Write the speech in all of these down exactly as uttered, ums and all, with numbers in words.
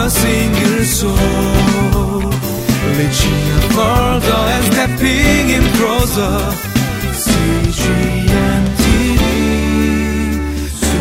a single soul, reaching out further and stepping in closer. C G N T V to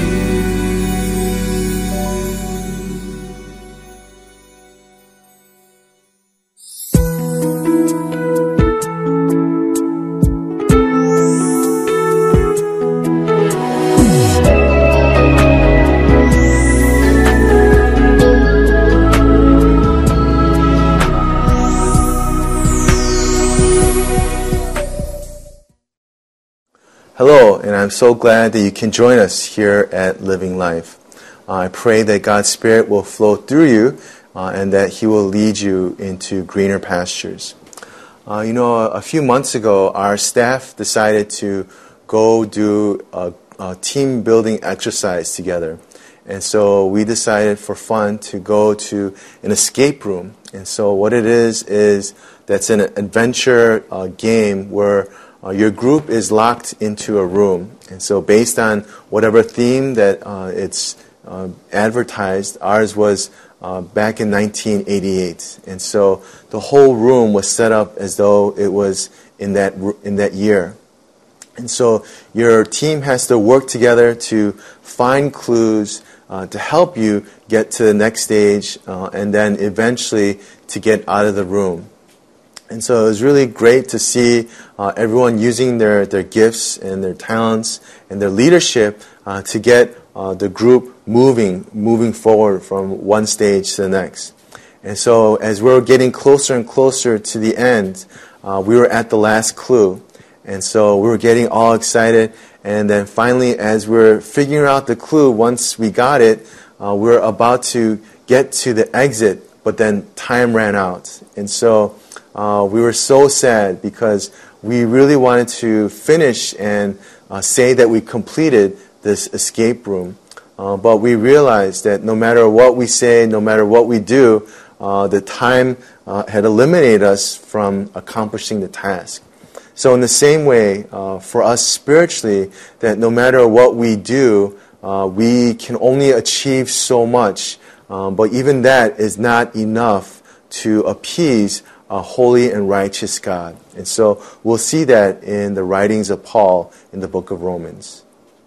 Hello, and I'm so glad that you can join us here at Living Life. Uh, I pray that God's Spirit will flow through you uh, and that He will lead you into greener pastures. Uh, you know, a, a few months ago, our staff decided to go do a, a team building exercise together. And so we decided for fun to go to an escape room. And so what it is, is that's an adventure uh, game where Uh, your group is locked into a room, and so based on whatever theme that uh, it's uh, advertised, ours was uh, back in nineteen eighty-eight, and so the whole room was set up as though it was in that in that year. And so your team has to work together to find clues uh, to help you get to the next stage, uh, and then eventually to get out of the room. And so it was really great to see uh, everyone using their, their gifts and their talents and their leadership uh, to get uh, the group moving, moving forward from one stage to the next. And so as we were getting closer and closer to the end, uh, we were at the last clue. And so we were getting all excited. And then finally, as we were figuring out the clue, once we got it, uh, we were about to get to the exit, but then time ran out. And so Uh, we were so sad because we really wanted to finish and uh, say that we completed this escape room. Uh, but we realized that no matter what we say, no matter what we do, uh, the time uh, had eliminated us from accomplishing the task. So in the same way, uh, for us spiritually, that no matter what we do, uh, we can only achieve so much. Um, but even that is not enough to appease a holy and righteous God. And so we'll see that in the writings of Paul in the book of Romans.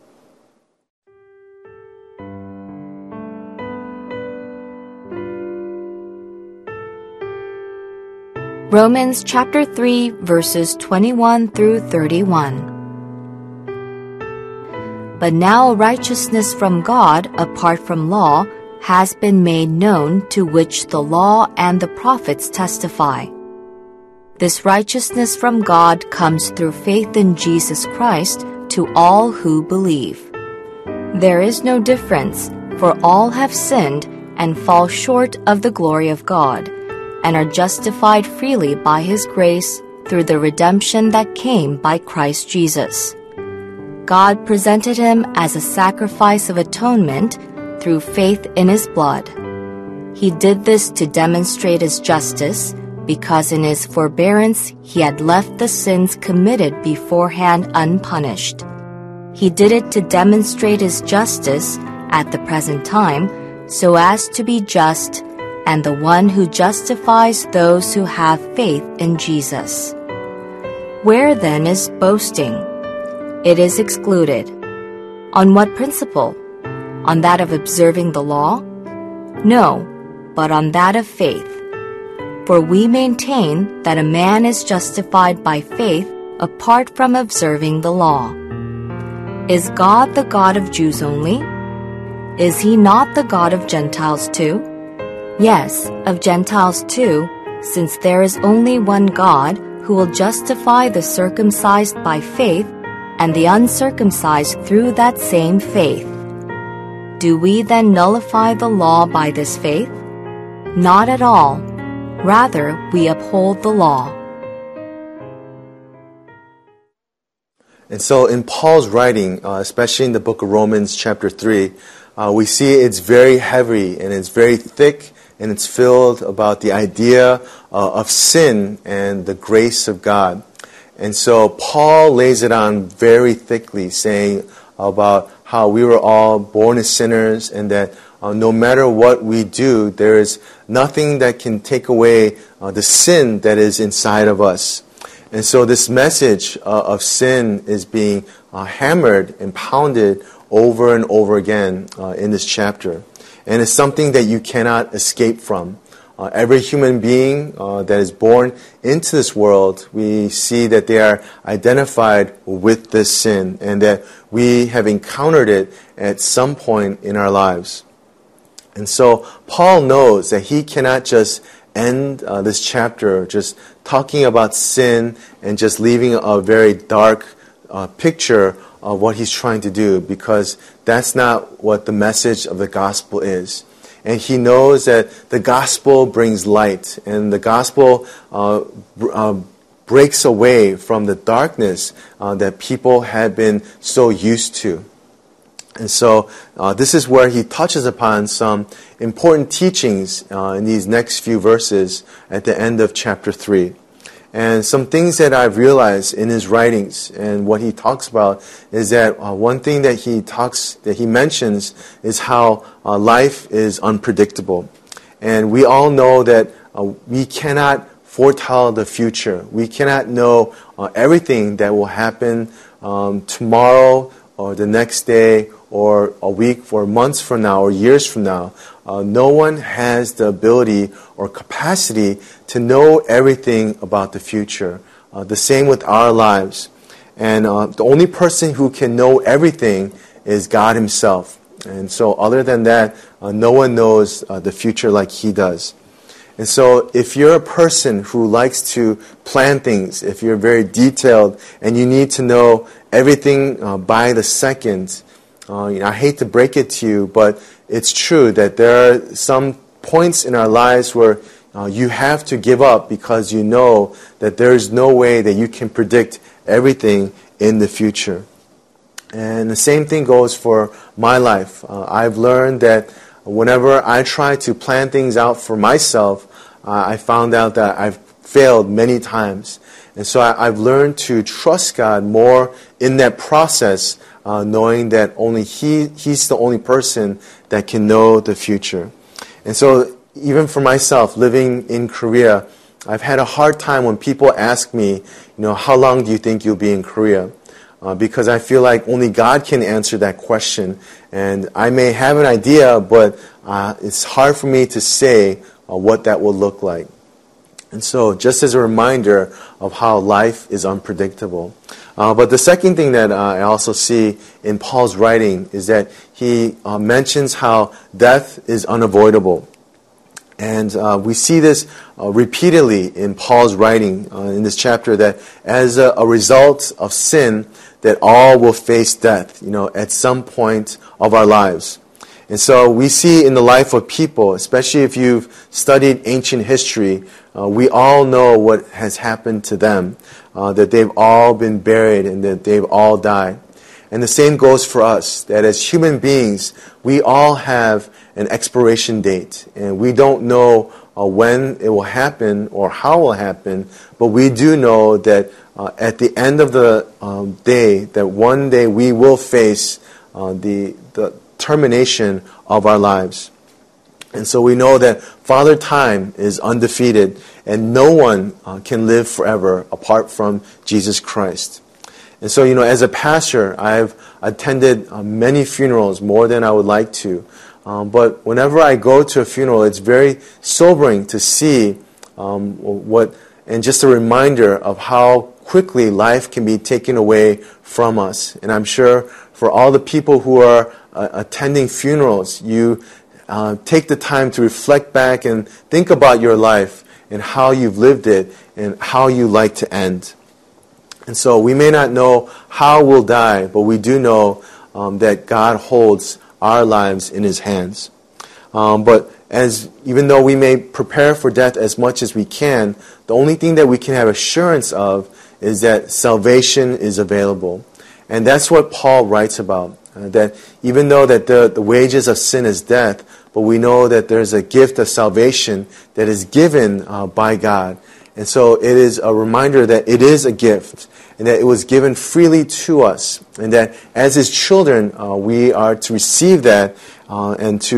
Romans chapter three, verses twenty-one through thirty-one. But now righteousness from God, apart from law, has been made known, to which the law and the prophets testify. This righteousness from God comes through faith in Jesus Christ to all who believe. There is no difference, for all have sinned and fall short of the glory of God, and are justified freely by His grace through the redemption that came by Christ Jesus. God presented Him as a sacrifice of atonement through faith in His blood. He did this to demonstrate His justice, because in His forbearance He had left the sins committed beforehand unpunished. He did it to demonstrate His justice at the present time, so as to be just, and the one who justifies those who have faith in Jesus. Where then is boasting? It is excluded. On what principle? On that of observing the law? No, but on that of faith. For we maintain that a man is justified by faith apart from observing the law. Is God the God of Jews only? Is He not the God of Gentiles too? Yes, of Gentiles too, since there is only one God who will justify the circumcised by faith and the uncircumcised through that same faith. Do we then nullify the law by this faith? Not at all. Rather, we uphold the law. And so in Paul's writing, uh, especially in the book of Romans chapter three, uh, we see it's very heavy and it's very thick and it's filled about the idea uh, of sin and the grace of God. And so Paul lays it on very thickly, saying about how we were all born as sinners and that uh, no matter what we do, there is nothing that can take away uh, the sin that is inside of us. And so this message uh, of sin is being uh, hammered and pounded over and over again uh, in this chapter. And it's something that you cannot escape from. Uh, every human being uh, that is born into this world, we see that they are identified with this sin and that we have encountered it at some point in our lives. And so Paul knows that he cannot just end uh, this chapter just talking about sin and just leaving a very dark uh, picture of what he's trying to do, because that's not what the message of the gospel is. And he knows that the gospel brings light, and the gospel uh, uh, breaks away from the darkness uh, that people had been so used to. And so uh, this is where he touches upon some important teachings uh, in these next few verses at the end of chapter three. And some things that I've realized in his writings and what he talks about is that uh, one thing that he talks, that he mentions is how uh, life is unpredictable. And we all know that uh, we cannot foretell the future. We cannot know uh, everything that will happen um, tomorrow or the next day or a week or months from now or years from now. Uh, no one has the ability or capacity to know everything about the future. Uh, the same with our lives. And uh, the only person who can know everything is God himself. And so other than that, uh, no one knows uh, the future like he does. And so if you're a person who likes to plan things, if you're very detailed and you need to know everything uh, by the second, uh, you know, I hate to break it to you, but it's true that there are some points in our lives where uh, you have to give up because you know that there is no way that you can predict everything in the future. And the same thing goes for my life. Uh, I've learned that whenever I try to plan things out for myself, uh, I found out that I've failed many times. And so I, I've learned to trust God more in that process, uh, knowing that only He He's the only person that can know the future. And so even for myself, living in Korea, I've had a hard time when people ask me, you know, how long do you think you'll be in Korea? Uh, because I feel like only God can answer that question. And I may have an idea, but uh, it's hard for me to say uh, what that will look like. And so just as a reminder of how life is unpredictable. Uh, but the second thing that uh, I also see in Paul's writing is that he uh, mentions how death is unavoidable. And uh, we see this uh, repeatedly in Paul's writing uh, in this chapter, that as a, a result of sin, that all will face death, you know, at some point of our lives. And so we see in the life of people, especially if you've studied ancient history, uh, we all know what has happened to them, uh, that they've all been buried and that they've all died. And the same goes for us, that as human beings, we all have an expiration date, and we don't know uh, when it will happen or how it will happen, but we do know that uh, at the end of the um, day, that one day we will face uh, the, the termination of our lives. And so we know that Father Time is undefeated, and no one uh, can live forever apart from Jesus Christ. And so, you know, as a pastor, I've attended uh, many funerals, more than I would like to. Um, but whenever I go to a funeral, it's very sobering to see um, what, and just a reminder of how quickly life can be taken away from us. And I'm sure for all the people who are uh, attending funerals, you uh, take the time to reflect back and think about your life and how you've lived it and how you like to end. And so we may not know how we'll die, but we do know um, that God holds our lives in His hands. Um, but as even though we may prepare for death as much as we can, the only thing that we can have assurance of is that salvation is available. And that's what Paul writes about, uh, that even though that the, the wages of sin is death, but we know that there's a gift of salvation that is given uh, by God. And so it is a reminder that it is a gift and that it was given freely to us, and that as His children, uh, we are to receive that uh, and to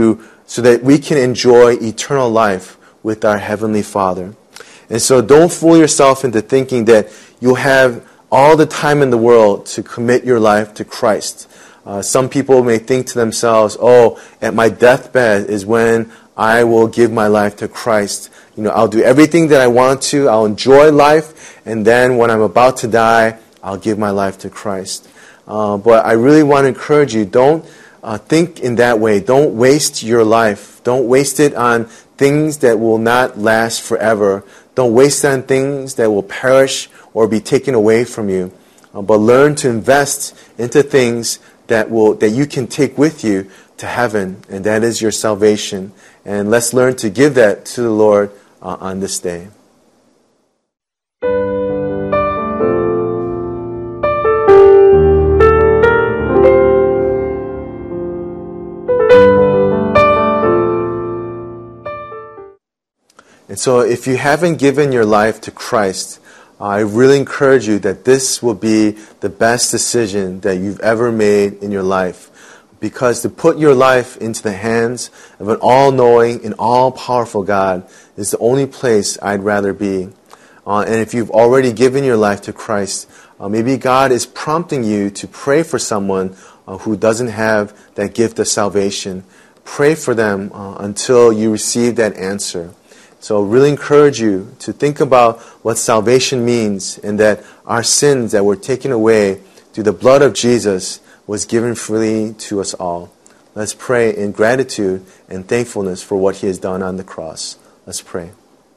so that we can enjoy eternal life with our Heavenly Father. And so don't fool yourself into thinking that you'll have all the time in the world to commit your life to Christ. Uh, some people may think to themselves, oh, at my deathbed is when I will give my life to Christ. You know, I'll do everything that I want to, I'll enjoy life, and then when I'm about to die, I'll give my life to Christ. Uh, but I really want to encourage you, don't uh, think in that way. Don't waste your life. Don't waste it on things that will not last forever. Don't waste it on things that will perish or be taken away from you. Uh, but learn to invest into things that will that you can take with you to heaven, and that is your salvation. And let's learn to give that to the Lord uh, on this day. And so if you haven't given your life to Christ, I really encourage you that this will be the best decision that you've ever made in your life. Because to put your life into the hands of an all-knowing and all-powerful God is the only place I'd rather be. Uh, and if you've already given your life to Christ, uh, maybe God is prompting you to pray for someone uh, who doesn't have that gift of salvation. Pray for them uh, until you receive that answer. So really encourage you to think about what salvation means, and that our sins that were taken away through the blood of Jesus was given freely to us all. Let's pray in gratitude and thankfulness for what He has done on the cross. Let's pray.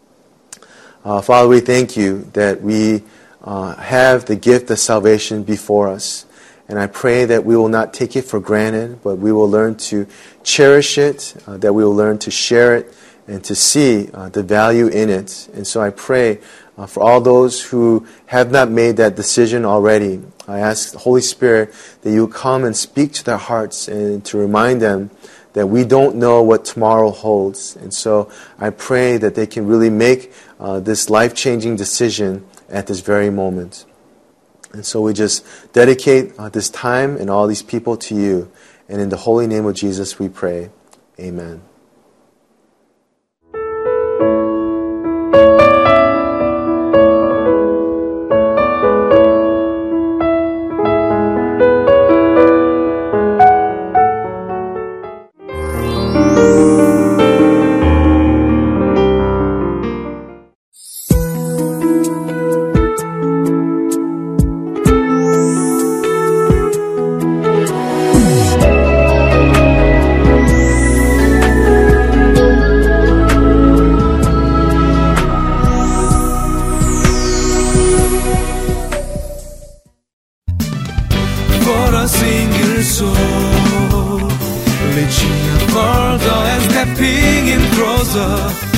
Uh, Father, we thank you that we uh, have the gift of salvation before us. And I pray that we will not take it for granted, but we will learn to cherish it, uh, that we will learn to share it, and to see uh, the value in it. And so I pray uh, for all those who have not made that decision already. I ask the Holy Spirit that you come and speak to their hearts and to remind them that we don't know what tomorrow holds. And so I pray that they can really make uh, this life-changing decision at this very moment. And so we just dedicate uh, this time and all these people to you. And in the holy name of Jesus we pray. Amen. Reaching further and stepping in closer.